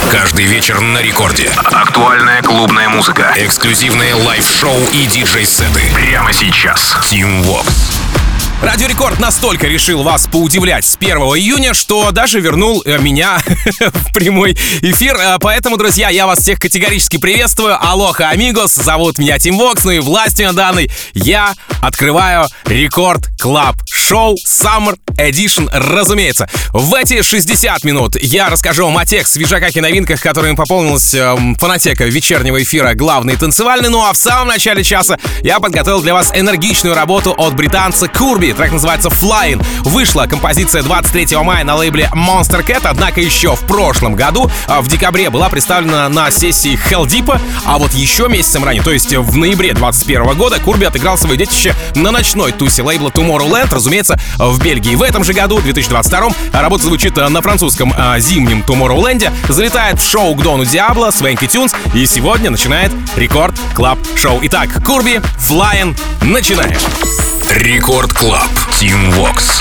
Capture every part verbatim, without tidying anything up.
Каждый вечер на рекорде. Актуальная клубная музыка. Эксклюзивные лайв-шоу и диджей-сеты. Прямо сейчас. Team Vox. Радио Рекорд настолько решил вас поудивлять с первого июня, что даже вернул меня в прямой эфир. Поэтому, друзья, я вас всех категорически приветствую. Алоха, амигос. Зовут меня Team Vox, ну и властью данной я открываю Рекорд Клаб Шоу Summer Edition, разумеется. В эти шестьдесят минут я расскажу вам о тех свежаках и новинках, которыми пополнилась э, фонотека вечернего эфира «Главный танцевальный». Ну а в самом начале часа я подготовил для вас энергичную работу от британца Курби. Трек называется Flying. Вышла композиция двадцать третьего мая на лейбле Monster Cat, однако еще в прошлом году, в декабре, была представлена на сессии Hell Deep, а вот еще месяцем ранее, то есть в ноябре двадцать первого года, Курби отыграл свое детище на ночной тусе лейбла Tomorrowland, разумеется, в Бельгии. В этом же году, две тысячи двадцать втором, работа звучит на французском а, зимнем Tomorrowland, залетает в шоу к Дону Диабло, Свенки Тюнс, и сегодня начинает Рекорд Клаб Шоу. Итак, Курби, Flying, начинаем. Рекорд Клаб, Team Vox.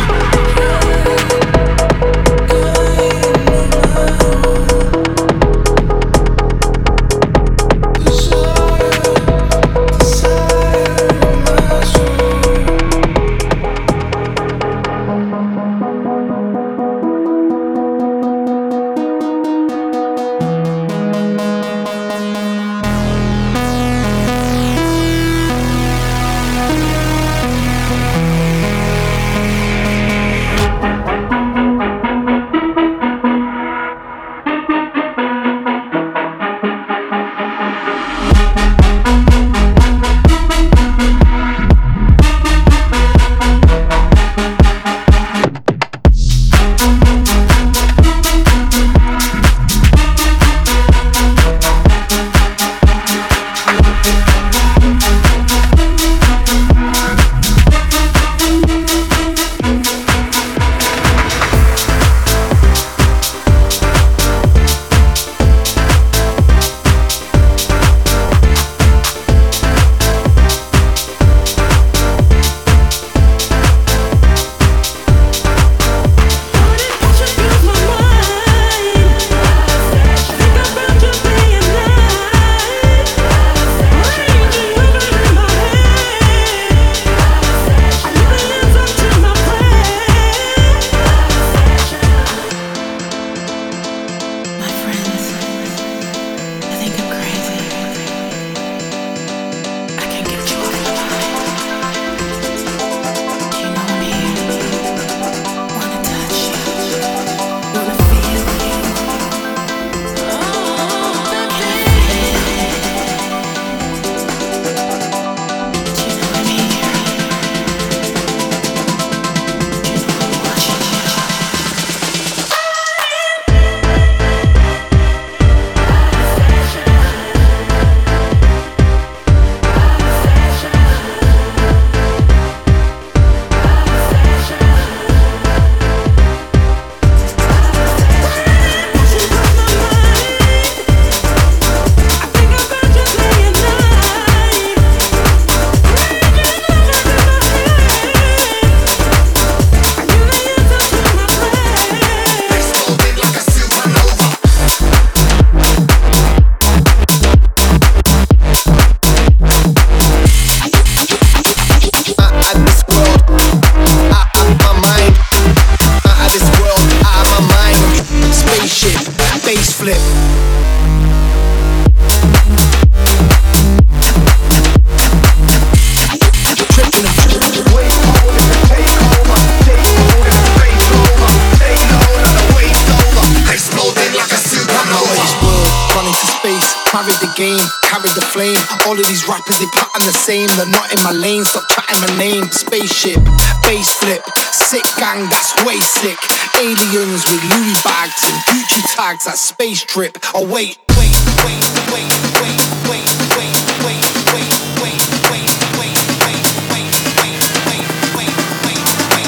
All of these rappers, they pattern the same. They're not in my lane, stop chatting my name. Spaceship, bass flip, sick gang, that's way sick. Aliens with Louis bags and Gucci tags, that space trip. Oh wait, wait, wait, wait, wait, wait, wait, wait, wait, wait, wait, wait, wait, wait, wait, wait, wait, wait, wait,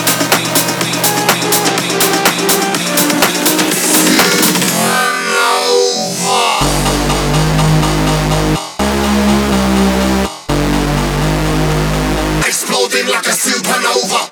exploding like a supernova.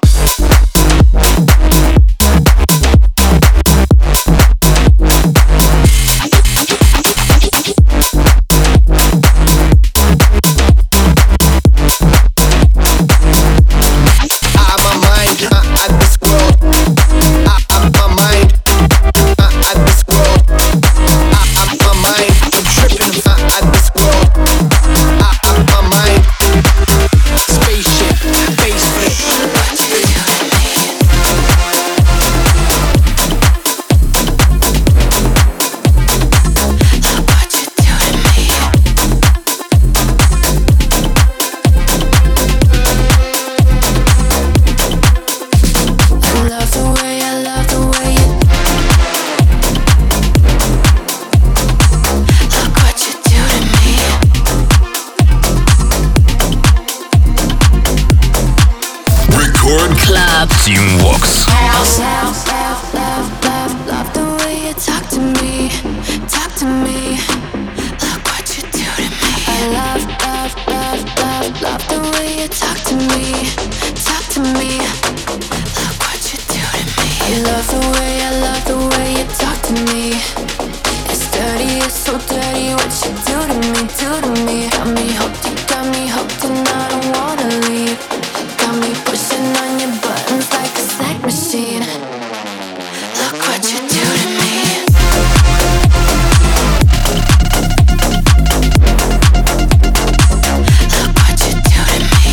Team Vox. Love the way, I love the way you talk to me. It's dirty, it's so dirty what you do to me, do to me. Got me hooked, you got me hooked and I don't wanna leave. Got me pushing on your buttons like a snack machine. Look what you do to me. Look what you do to me.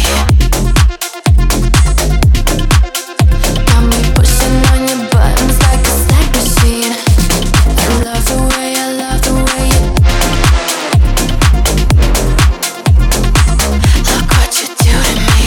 Got me pushing on your buttons like a snack machine. I love the way, I love the way you. Look what you do to me.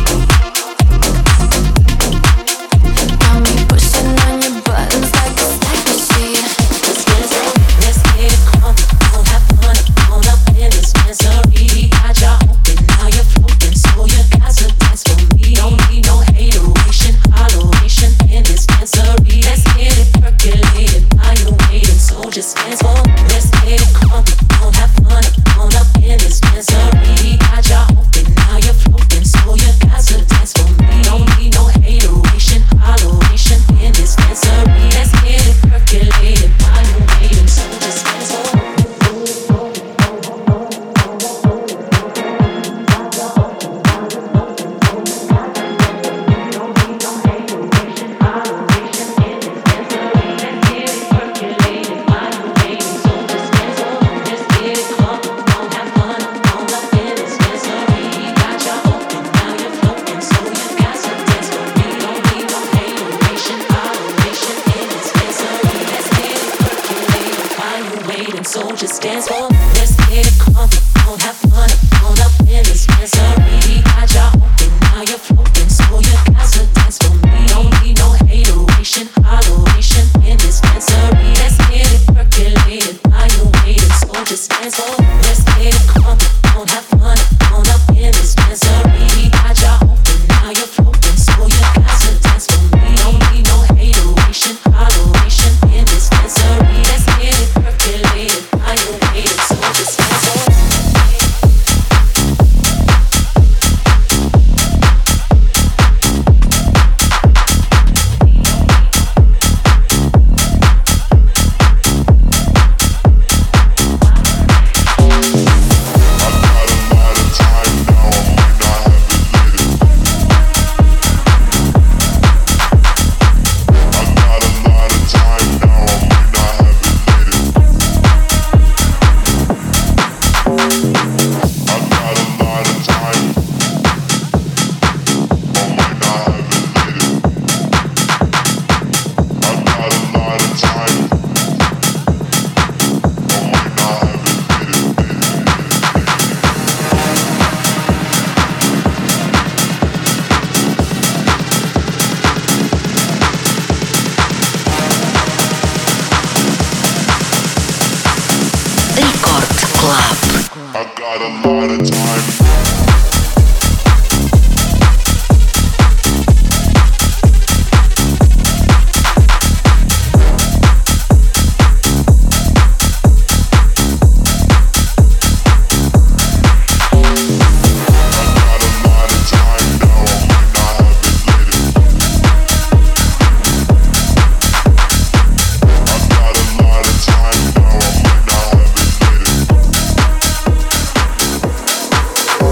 Got me pushing on your buttons like a snack machine. Let's get it, let's get it crunk. Don't have fun, all up in this misery. Got ya open, now you're floating, so you got to dance for me. Don't need no hateration, holleration in this misery. Let's get it percolated, while you're waiting, so just dance for me. Let's get it crunk. Don't have fun, all up in this misery. Got ya open, now you're floating, so you got to dance for me. Don't need no hateration, holleration in this misery. Let's get it percolated, while you're waiting, so just dance for me. So just dance for me. Let's get it crunk. Don't have fun. All up in this misery. Got ya open, now you're floating, so you got to dance for me. Don't need no hateration, holleration in this misery. Let's get it percolated, while you're waiting, so just dance for me. Let's get it crunk. Don't have fun. All up in this misery. Got ya open, now you're floating, so you got to dance for me. Don't need no hateration, holleration in this misery. Let's get it percolated, while you're waiting, so just dance for me. I got a lot of time. Look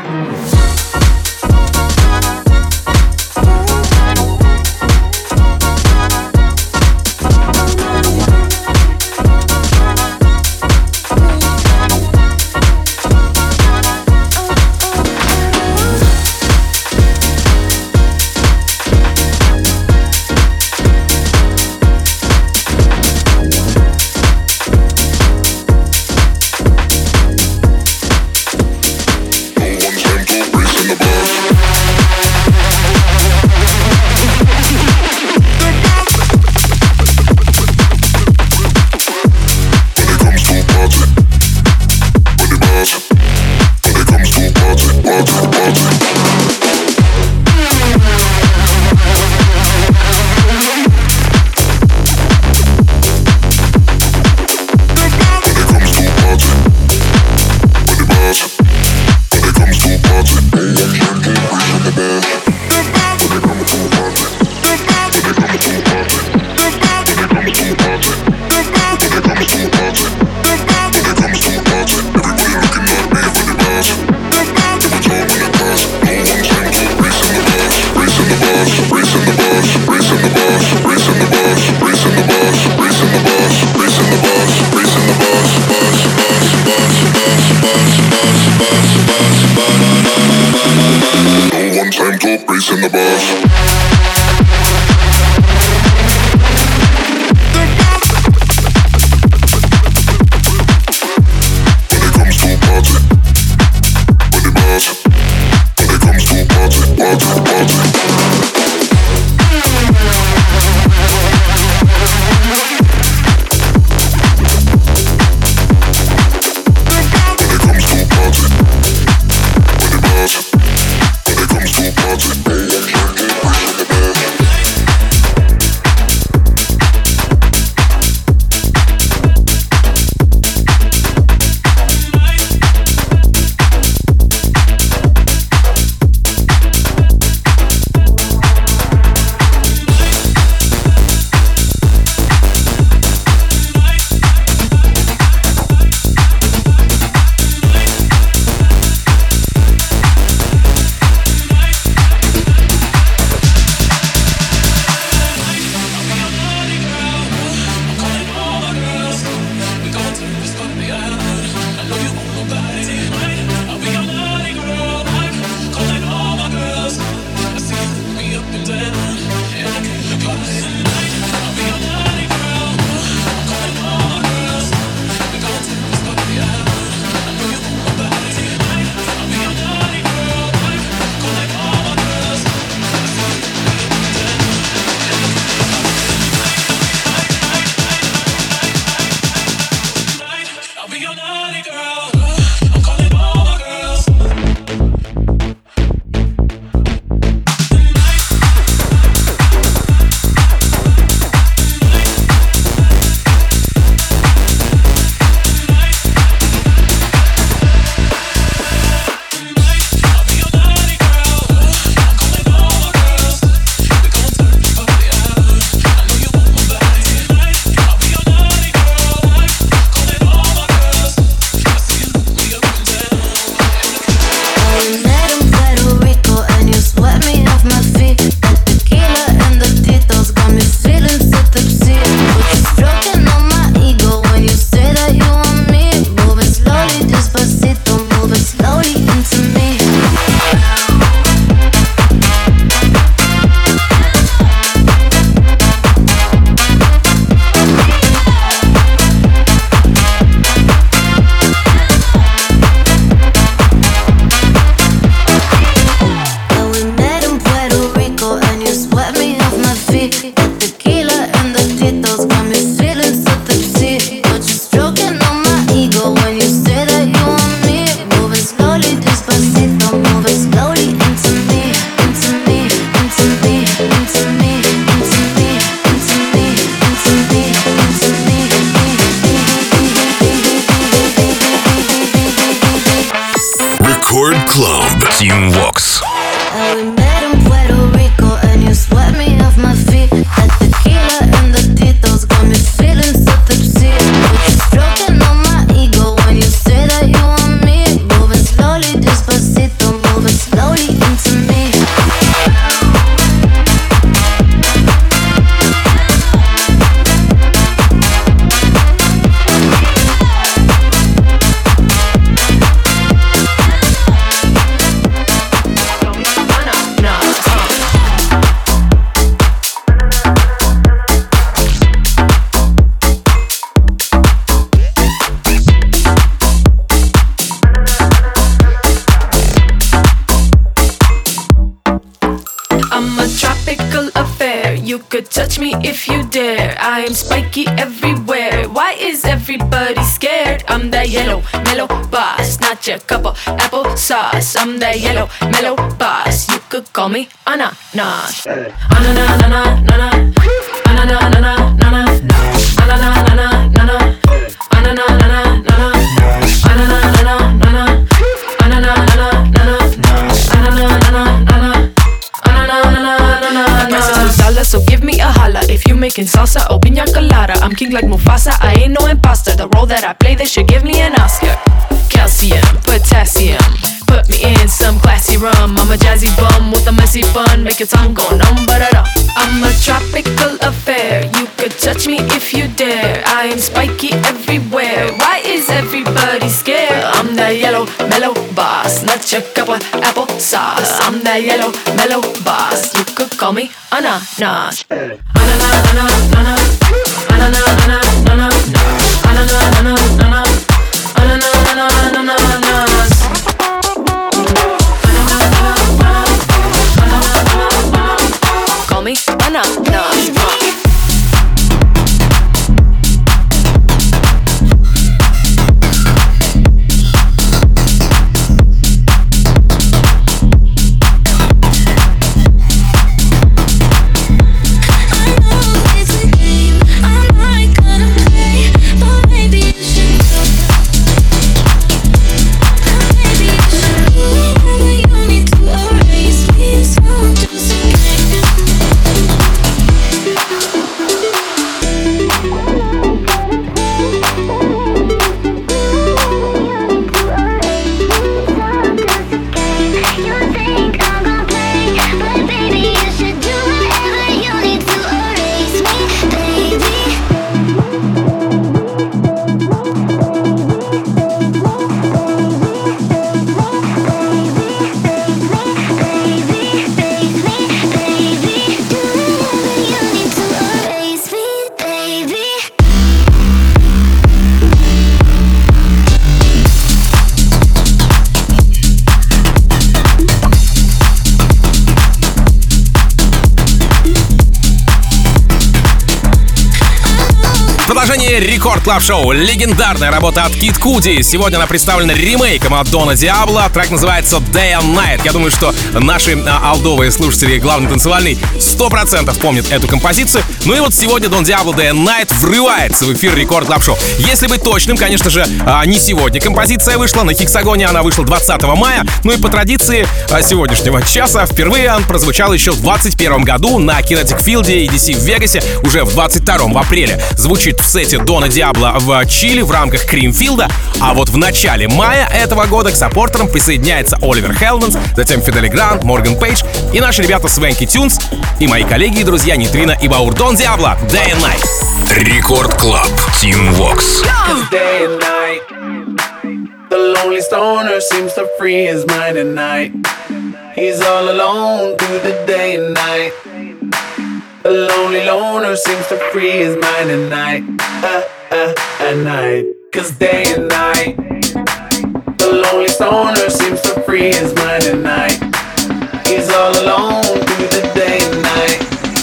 Club Team Vox. Stroking on my ego when you say that you want me, moving slowly, despacito. could touch me if you dare. I am spiky everywhere. Why is everybody scared? I'm that yellow, mellow boss, not your cup of apple sauce. I'm that yellow, mellow boss. You could call me ananas. Ananas, ananas, ananas, ananas, ananas, ananas, ananas, ananas. So give me a holla if you making salsa or piña colada. I'm king like Mufasa, I ain't no imposter. The role that I play, they should give me an Oscar. Calcium, potassium, put me in some classy rum. I'm a jazzy bum with a messy bun, make your tongue go numb, but I don't. I'm a tropical affair, you could touch me if you dare. I am spiky everywhere, why is everybody scared? I'm that yellow, mellow boss, not your cup of apple sauce. I'm that yellow, mellow boss, you could call me ananas. Ananas, ananas, ananas, ananas, ananas, ananas, ananas, ananas. Call me ananas. Рекорд Клаб Шоу. Легендарная работа от Kid Cudi. Сегодня она представлена ремейком от Дона Диабло. Трек называется Day and Night. Я думаю, что наши а, алдовые слушатели главный танцевальный сто процентов помнят эту композицию. Ну и вот сегодня Дон Диабло Day and Night врывается в эфир Рекорд Клаб Шоу. Если быть точным, конечно же, а, не сегодня композиция вышла. На Хексагоне она вышла двадцатого мая. Ну и по традиции а, сегодняшнего часа впервые он прозвучал еще в двадцать первом году на Kinetic Field и ди си в Вегасе. Уже в двадцать втором в апреле звучит в сете Дона Диабло в Чили в рамках Кримфилда, а вот в начале мая этого года к саппортерам присоединяется Оливер Хелденс, затем Фидели Грант, Морган Пейдж и наши ребята Свенки Тюнс и мои коллеги и друзья Нитрина и Баур. Дон Диабло, Day and Night. Рекорд Клаб, Team Vox. Day and night, the lonely stoner seems to free his mind at night. He's all alone through the day and night. The lonely loner seems to free his mind at night, uh, uh, at night. Cause day and night, the lonely stoner seems to free his mind at night. He's all alone through the day and night.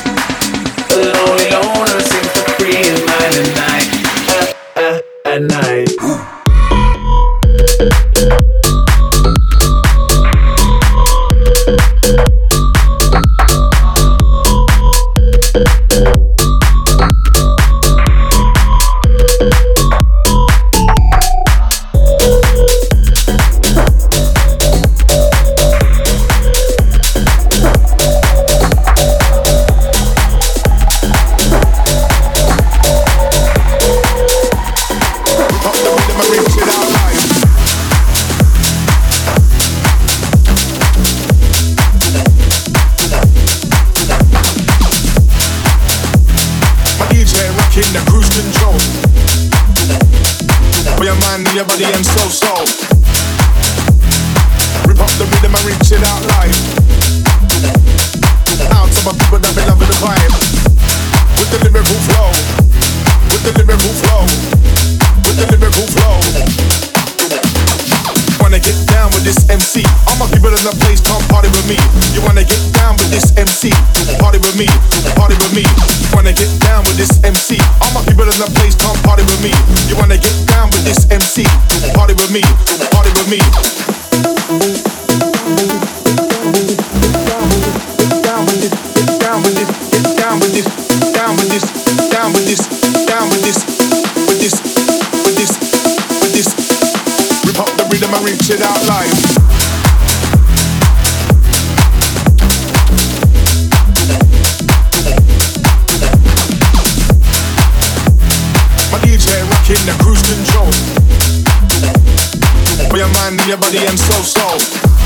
The lonely loner seems to free his mind at night, uh, uh, at night. Your body and soul, soul. Rip up the rhythm and reach it out live. Out to my people that be loving the vibe. With the lyrical flow. With the lyrical flow. With the lyrical flow. Wanna get down with this M C. All my people in the place come party with me. You wanna get down with this M C? Party with me, party with me. Wanna get down with this M C? All my people in the place come party with me. You wanna get down with this M C? Party with me, party with me. Down with this, get down with this, get down with this, down with this, down with this, down with this, with this, with this, with this. Rip up the rhythm and reach it out live. In the cruise control, for your mind, your body, and soul, soul.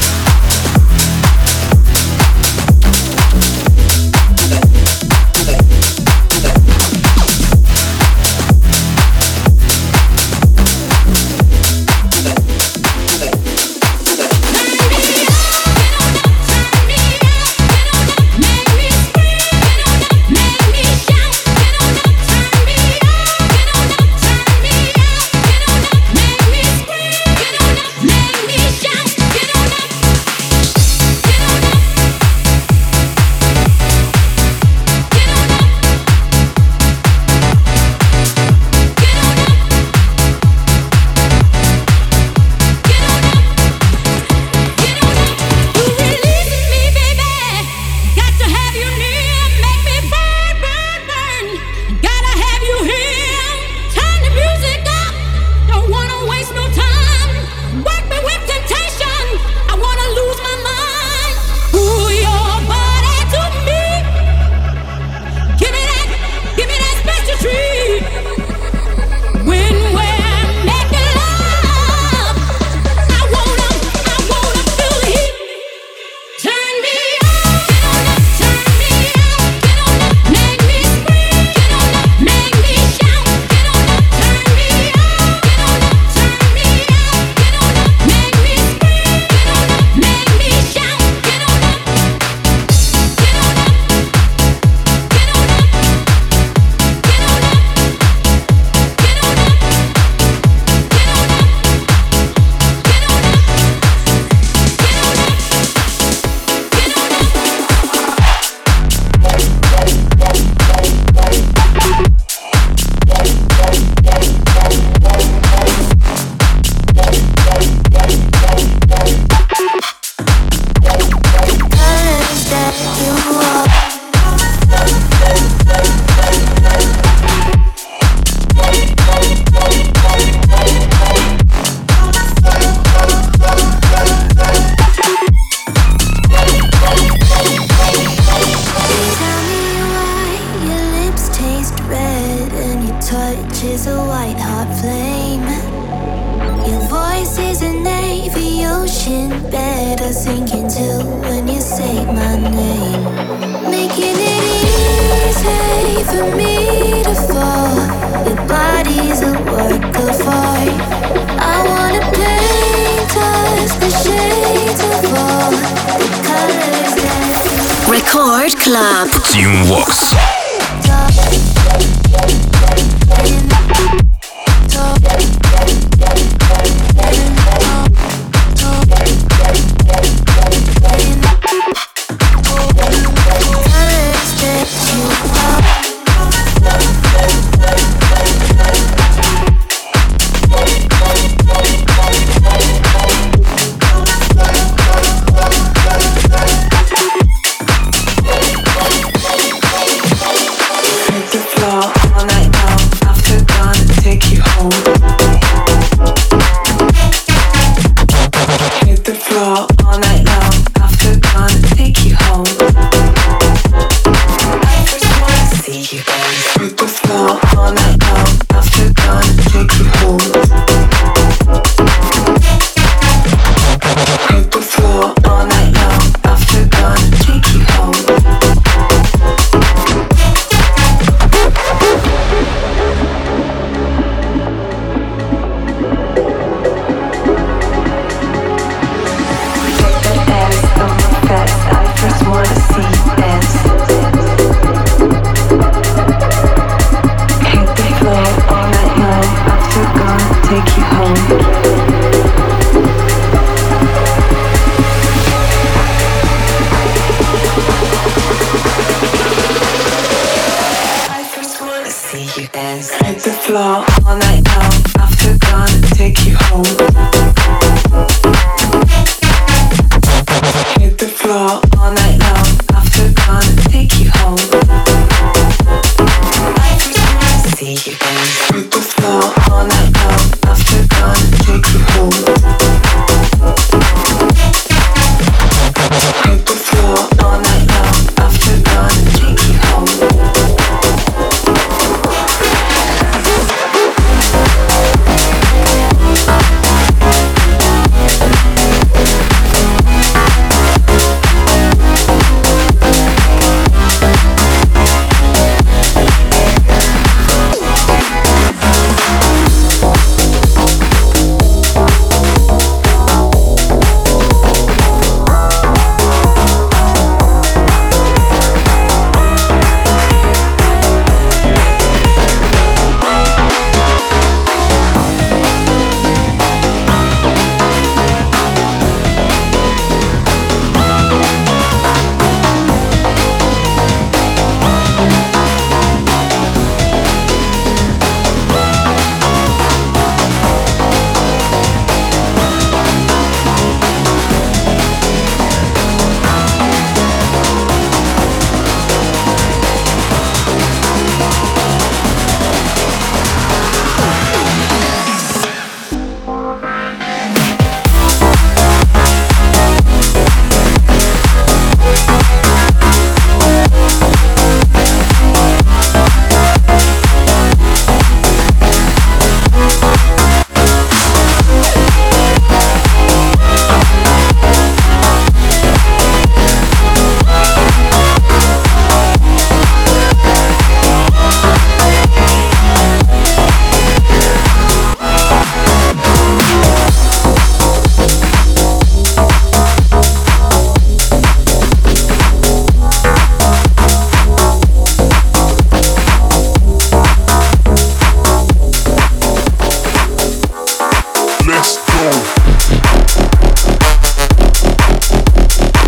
Record Club. Team Vox.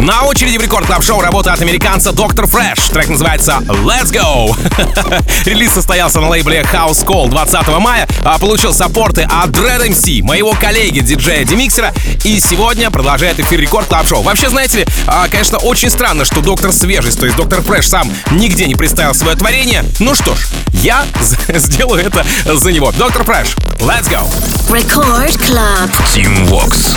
На очереди в Рекорд Клаб Шоу работа от американца доктор Fresh. Трек называется Let's Go. Релиз состоялся на лейбле House Call двадцатого мая, а получил саппорты от Dread эм си, моего коллеги, диджея Демиксера, и сегодня продолжает эфир Рекорд Клаб Шоу. Вообще, знаете ли, конечно, очень странно, что доктор Свежесть, то есть доктор Fresh, сам нигде не представил свое творение. Ну что ж, я сделаю это за него. доктор Fresh, Let's Go. Record Club. Team Vox.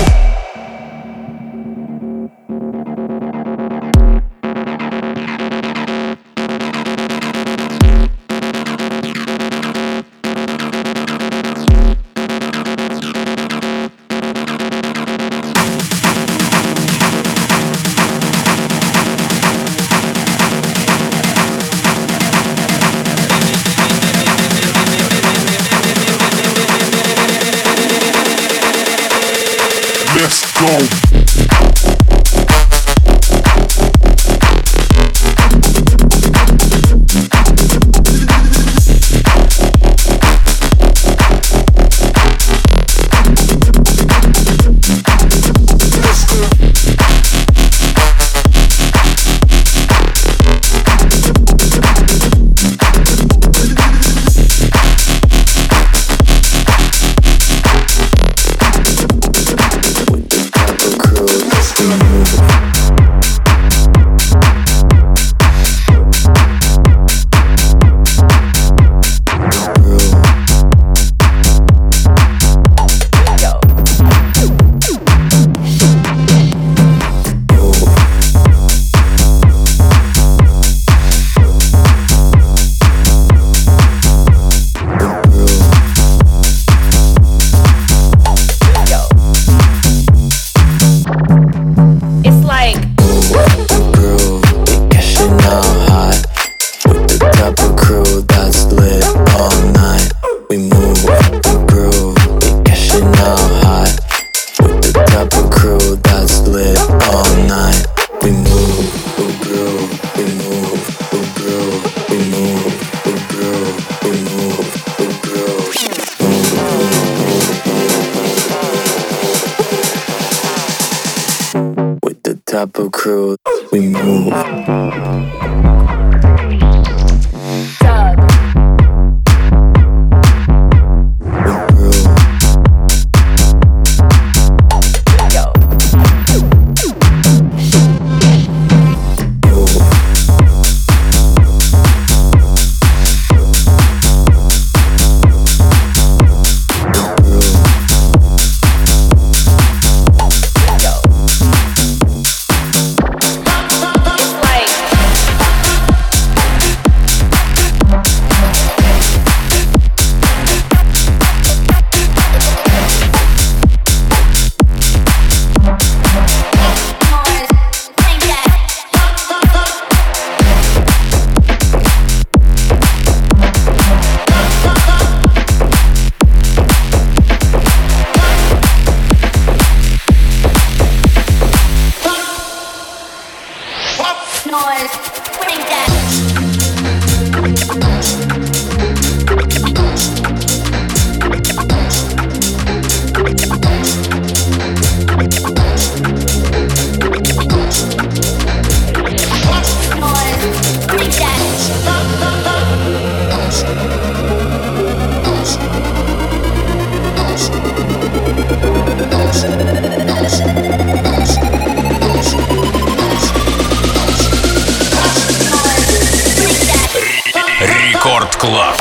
Let's go. Type of crew, we move. Рекорд Клаб.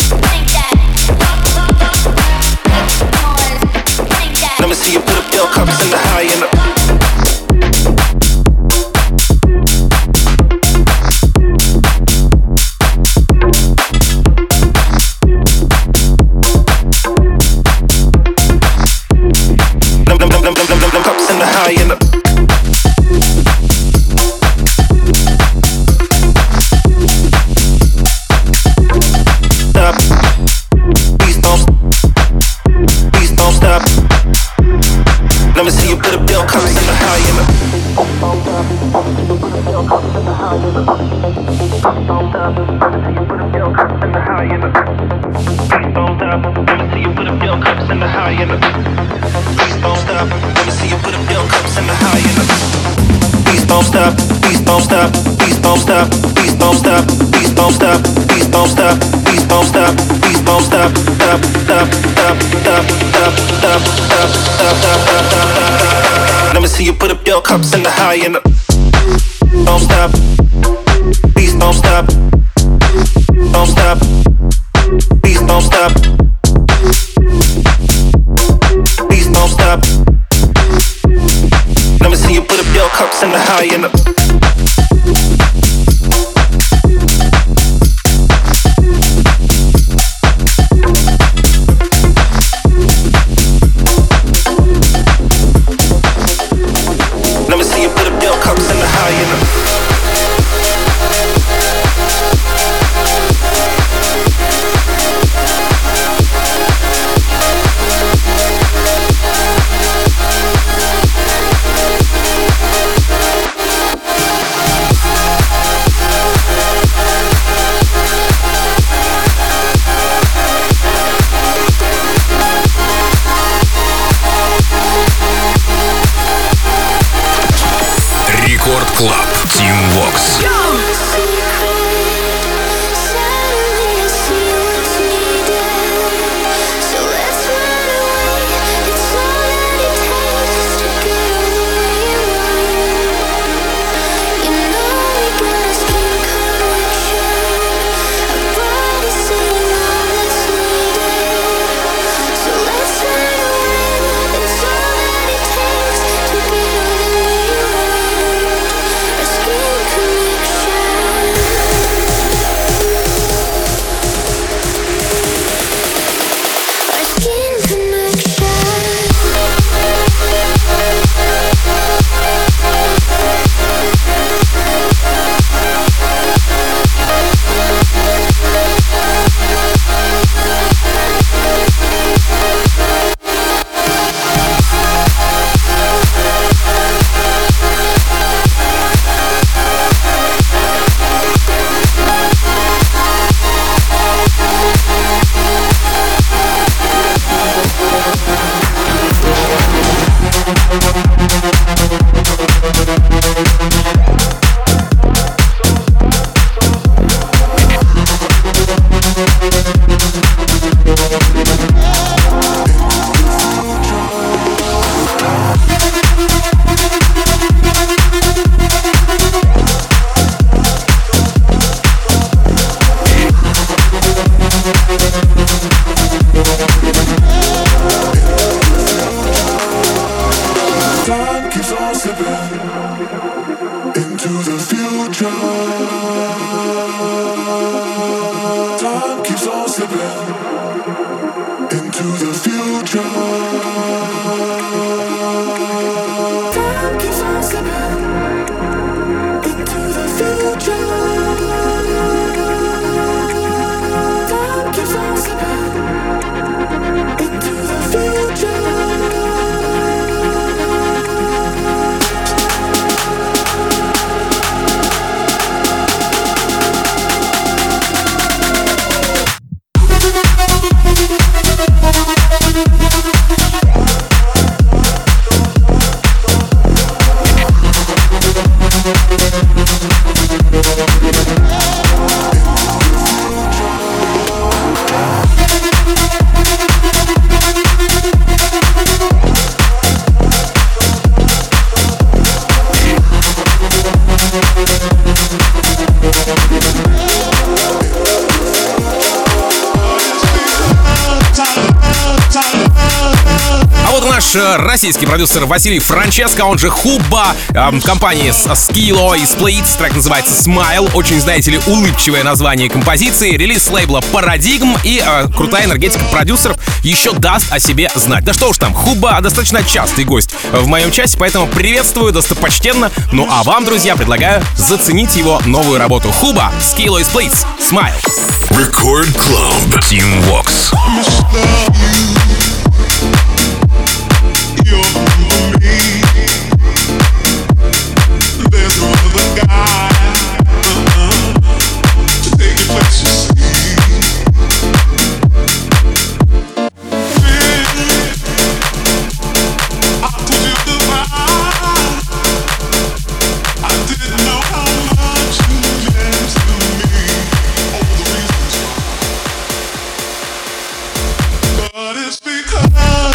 See you put up your cup. stop, please don't stop, please don't stop, please don't stop, please don't stop, please don't stop, please don't stop, please don't stop, stop, stop, stop, stop, stop, stop, stop, stop, stop, stop. Let me see you put up your cups in the high and the. Don't stop, please don't stop, don't stop, please don't stop, please don't stop. Let me see you put up your cups in the high and the. Club Team Vox. Российский продюсер Василий Франческо, он же Хуба, эм, компании Skilo и Splits, трек называется Smile, очень, знаете ли, улыбчивое название композиции, релиз с лейбла Paradigm и э, крутая энергетика продюсеров еще даст о себе знать. Да что уж там, Хуба достаточно частый гость в моем часе, поэтому приветствую достопочтенно. Ну а вам, друзья, предлагаю заценить его новую работу. Хуба, Skilo и Splits, Smile. Record Club Team Vox. I did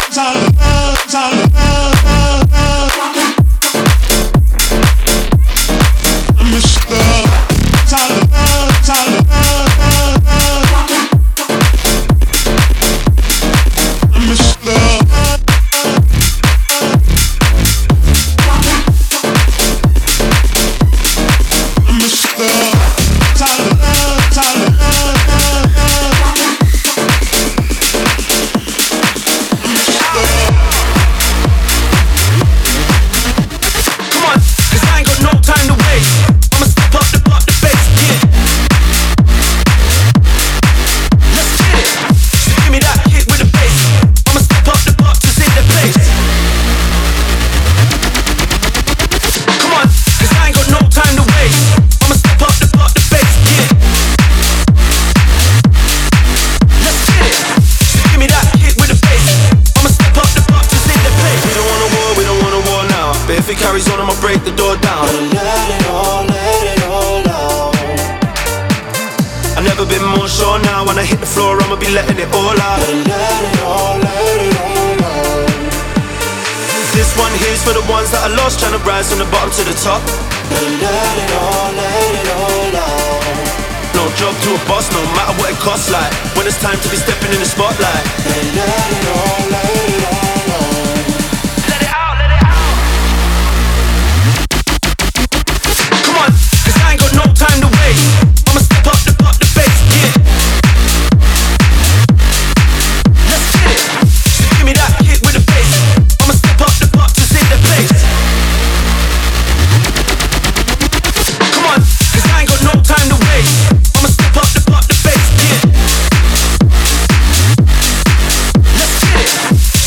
Let's get it.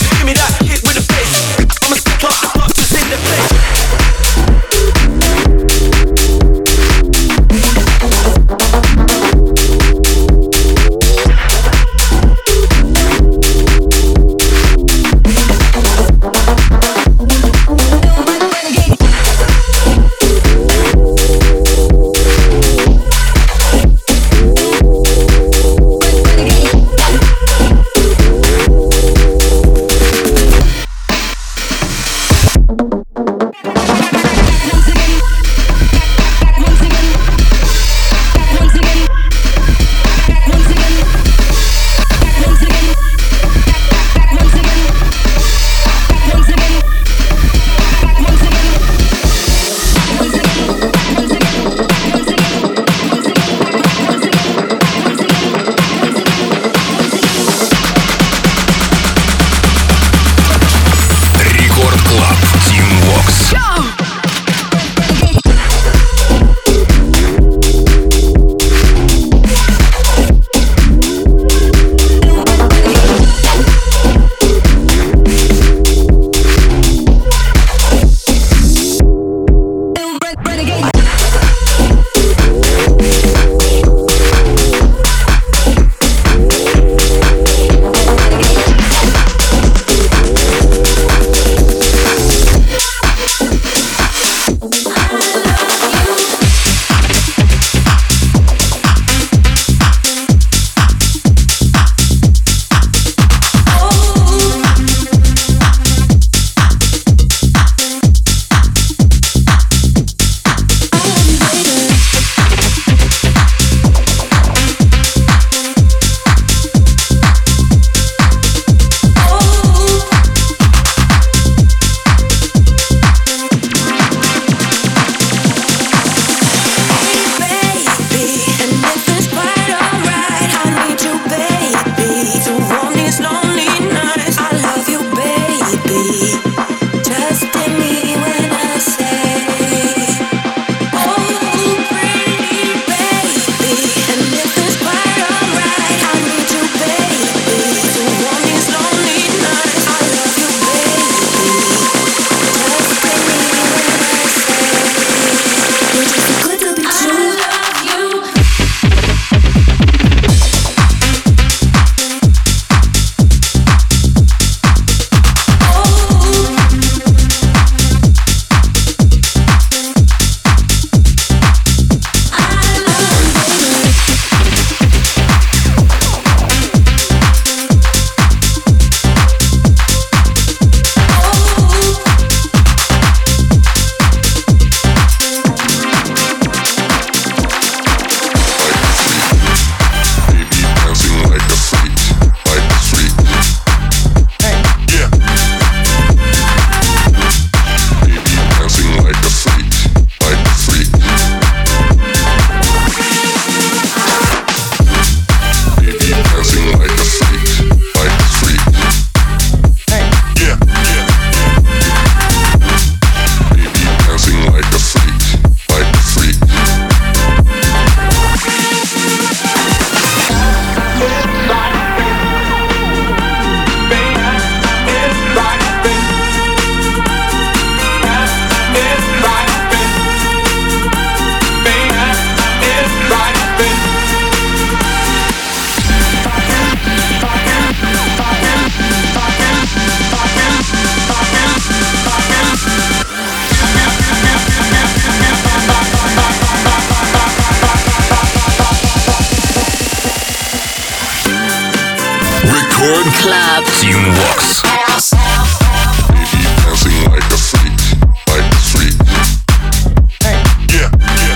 Record Club. Team Vox. Baby dancing like a freak, like a freak. Yeah, yeah.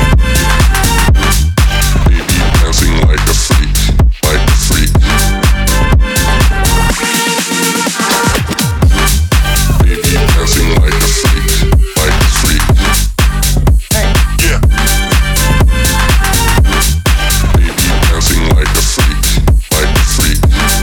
Baby dancing like a freak, like a freak. Baby dancing like a freak, like a freak. Yeah. Baby dancing like a freak, like a freak.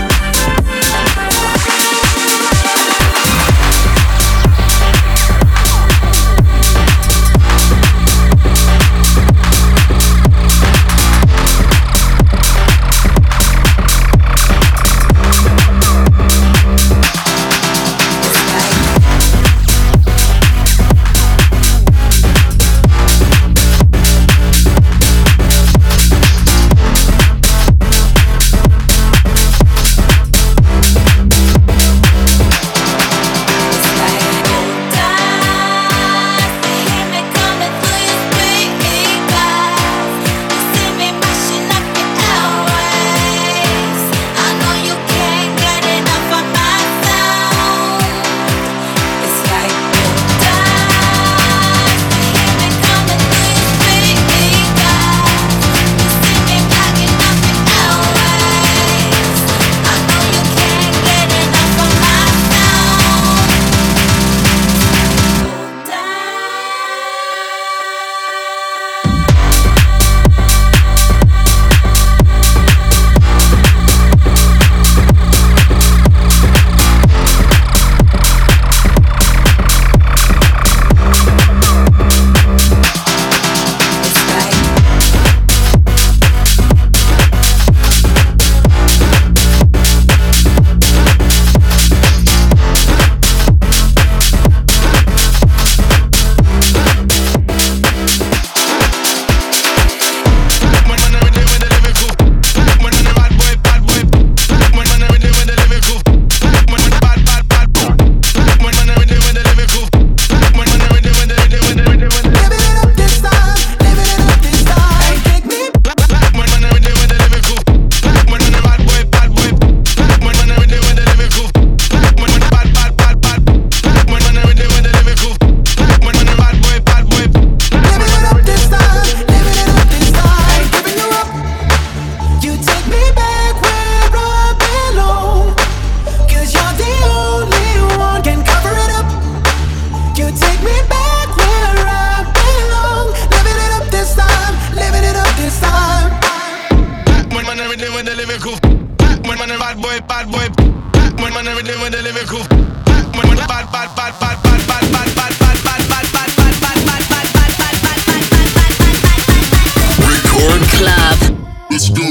Record Club. Let's go.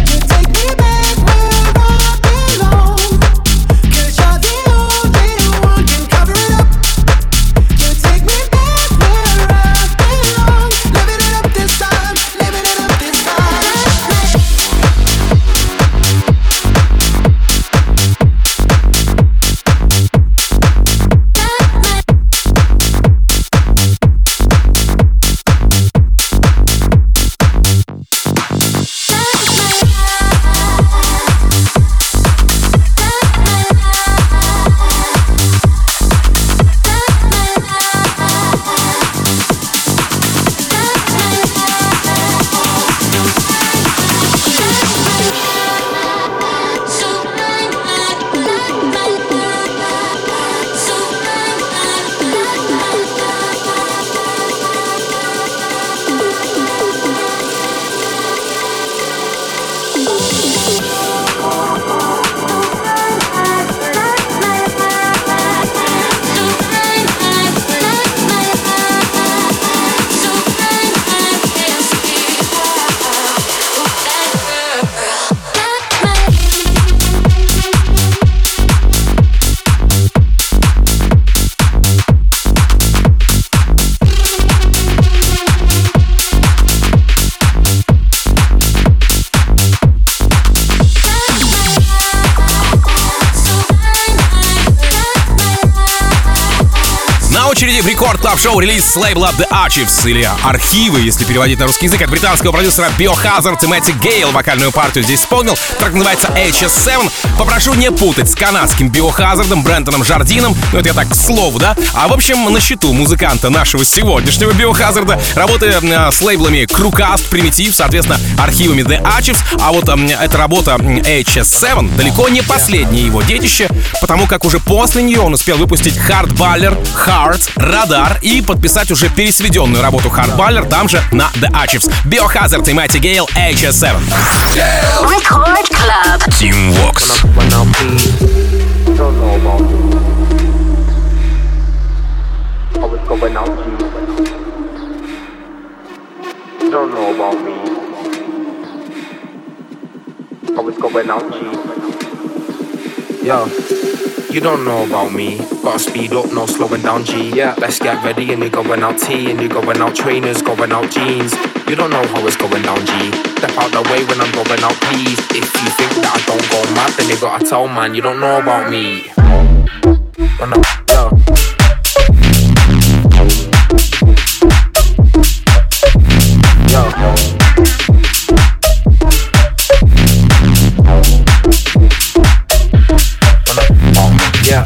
Take me back where I belong. 'Cause you're the only one очереди в Рекорд Клаб Шоу релиз с лейбла The Archives, или архивы, если переводить на русский язык, от британского продюсера Biohazard и Мэтти Гейл. Вокальную партию здесь исполнил. Трек называется эйч эс семь. Попрошу не путать с канадским Biohazard'ом Брентоном Жардином. Ну, это я так к слову, да? А в общем, на счету музыканта нашего сегодняшнего Biohazard'а работы э, с лейблами Crewcast, Primitive, соответственно, архивами The Archives. А вот э, эта работа эйч эс семь далеко не последнее его детище, потому как уже после нее он успел выпустить Hardballer, Heart, Radar и подписать уже пересведенную работу Hardballer там же на The Archives. Biohazard и Мэтти Гейл, эйч эс семь. Record Club. Team Vox. Don't know about me. I was going out G. Yo, you don't know about me. Gotta speed up, no slowing down G. Yeah, let's get ready and you're going out T and you're going out trainers, going out jeans. You don't know how it's going down G. Step out the way when I'm going out, please. If you think that I don't go mad, then you gotta tell man you don't know about me. When I, yo. Yo. Yeah.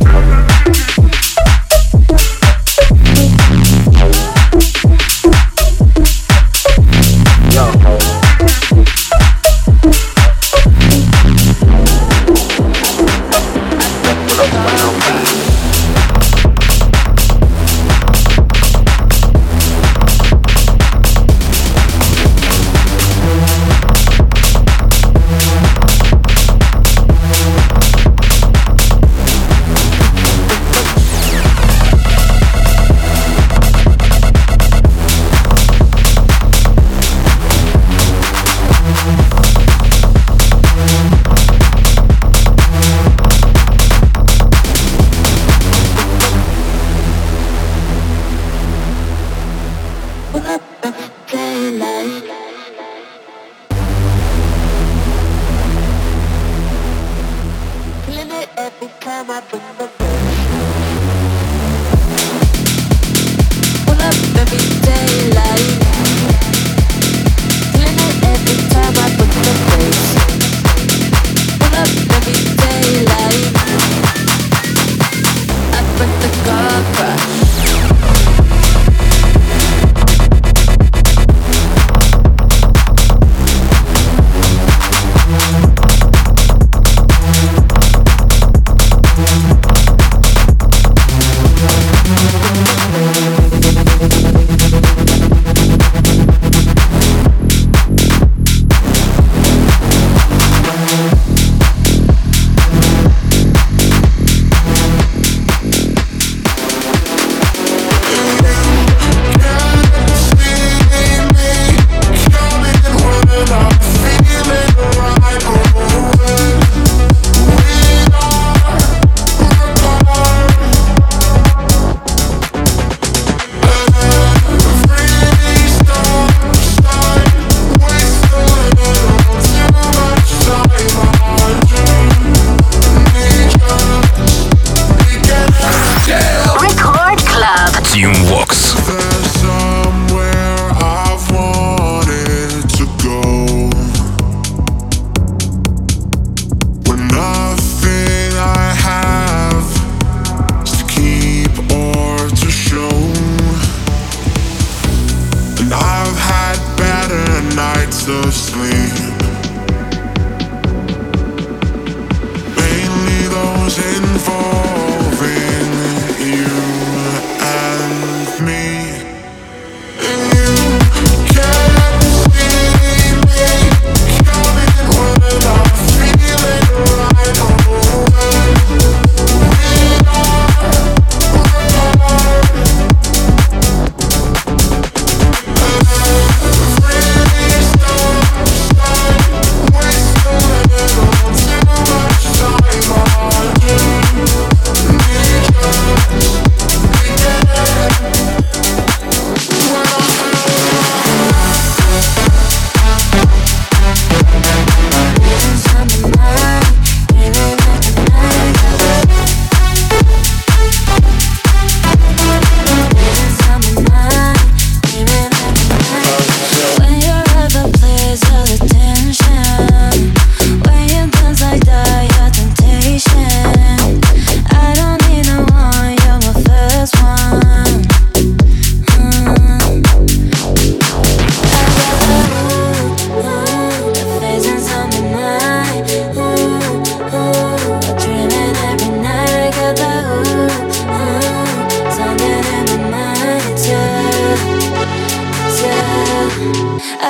involving you and me.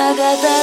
get that